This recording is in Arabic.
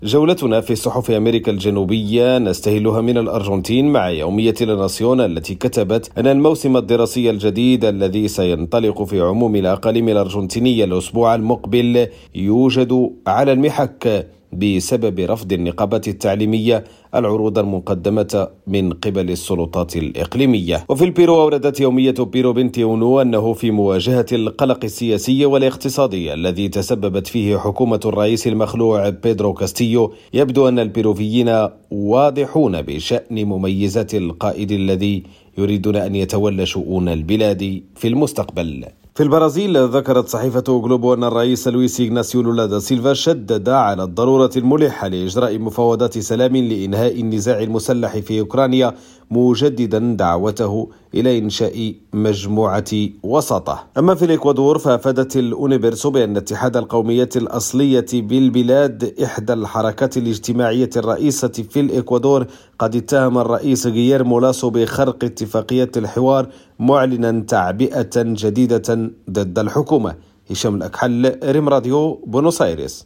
جولتنا في صحف أمريكا الجنوبية نستهلها من الأرجنتين مع يومية لاناسيون التي كتبت أن الموسم الدراسي الجديد الذي سينطلق في عموم الأقاليم الأرجنتينية الأسبوع المقبل يوجد على المحك بسبب رفض النقابة التعليمية العروض المقدمة من قبل السلطات الإقليمية. وفي البيرو أوردت يومية بيرو 21 أنه في مواجهة القلق السياسي والاقتصادي الذي تسببت فيه حكومة الرئيس المخلوع بيدرو كاستيو، يبدو أن البيروفيين واضحون بشأن مميزات القائد الذي يريدون أن يتولى شؤون البلاد في المستقبل. في البرازيل ذكرت صحيفة غلوبو أن الرئيس لويس إغناسيو لولا دا سيلفا شدد على الضرورة الملحة لإجراء مفاوضات سلام لإنهاء النزاع المسلح في أوكرانيا، مجددا دعوته إلى إنشاء مجموعة وساطة. أما في الإكوادور فأفادت الأونيبرسو بأن اتحاد القوميات الأصلية بالبلاد، إحدى الحركات الاجتماعية الرئيسة في الإكوادور، قد اتهم الرئيس غييرمو لاسو بخرق اتفاقية الحوار، معلنا تعبئة جديدة ضد الحكومة. هشام الأكحل، ريم راديو، بونوس آيرس.